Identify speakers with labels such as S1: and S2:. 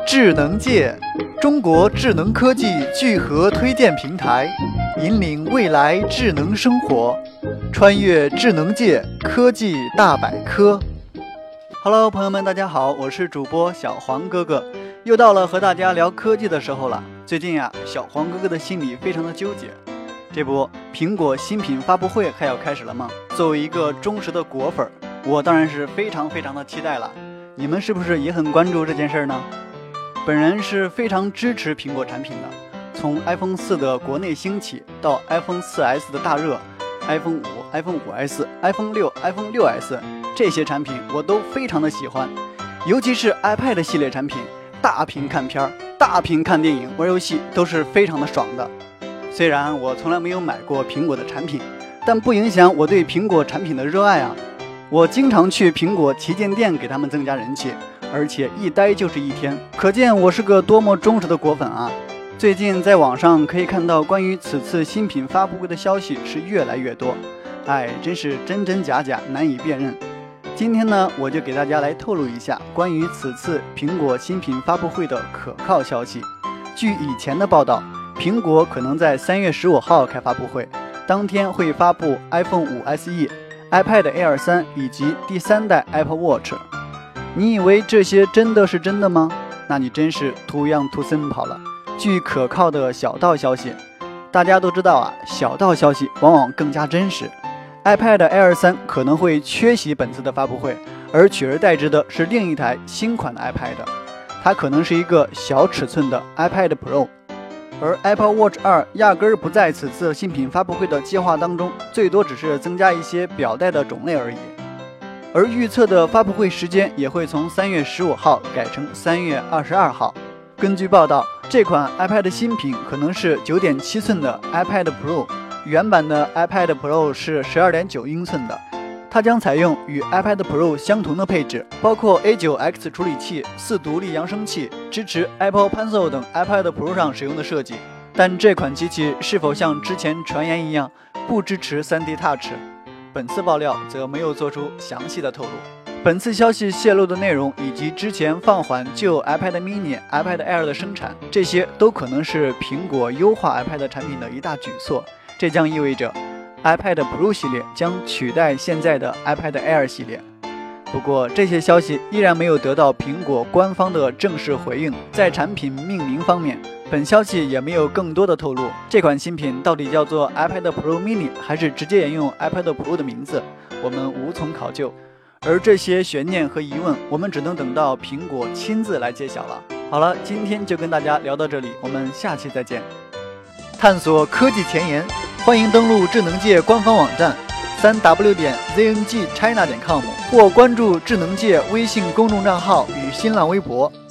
S1: 智能界，中国智能科技聚合推荐平台，引领未来智能生活，穿越智能界科技大百科。Hello， 朋友们，大家好，我是主播小黄哥哥，又到了和大家聊科技的时候了。最近小黄哥哥的心里非常的纠结，这不，苹果新品发布会还要开始了吗？作为一个忠实的果粉，我当然是非常的期待了。你们是不是也很关注这件事呢？本人是非常支持苹果产品的，从 iPhone 4的国内兴起到 iPhone 4S 的大热， iPhone 5、iPhone 5S、iPhone 6、iPhone 6S 这些产品我都非常的喜欢，尤其是 iPad 系列产品，大屏看片、大屏看电影、玩游戏都是非常的爽的。虽然我从来没有买过苹果的产品，但不影响我对苹果产品的热爱啊！我经常去苹果旗舰店给他们增加人气，而且一待就是一天，可见我是个多么忠实的果粉啊！最近在网上可以看到关于此次新品发布会的消息是越来越多，真是真真假假，难以辨认。今天呢，我就给大家来透露一下关于此次苹果新品发布会的可靠消息。据以前的报道，苹果可能在3月15号开发布会，当天会发布 iPhone 5 SE、iPad Air 3以及第3代 Apple Watch。你以为这些真的是真的吗？那你真是 too young too simple 了。据可靠的小道消息，大家都知道小道消息往往更加真实。iPad Air 3可能会缺席本次的发布会，而取而代之的是另一台新款的 iPad， 它可能是一个小尺寸的 iPad Pro。而 Apple Watch 2压根儿不在此次新品发布会的计划当中，最多只是增加一些表带的种类而已。而预测的发布会时间也会从3月15号改成3月22号。根据报道，这款 iPad 新品可能是 9.7 寸的 iPad Pro， 原版的 iPad Pro 是 12.9 英寸的。它将采用与 iPad Pro 相同的配置，包括 A9X 处理器、4独立扬声器，支持 Apple Pencil 等 iPad Pro 上使用的设计。但这款机器是否像之前传言一样不支持 3D Touch？ 本次爆料则没有做出详细的透露。本次消息泄露的内容以及之前放缓旧 iPad mini、iPad Air 的生产，这些都可能是苹果优化 iPad 产品的一大举措。这将意味着iPad Pro 系列将取代现在的 iPad Air 系列。不过这些消息依然没有得到苹果官方的正式回应。在产品命名方面，本消息也没有更多的透露，这款新品到底叫做 iPad Pro Mini 还是直接沿用 iPad Pro 的名字，我们无从考究。而这些悬念和疑问，我们只能等到苹果亲自来揭晓了。好了，今天就跟大家聊到这里，我们下期再见。探索科技前沿，欢迎登录智能界官方网站 3w.zngchina.com 或关注智能界微信公众账号与新浪微博。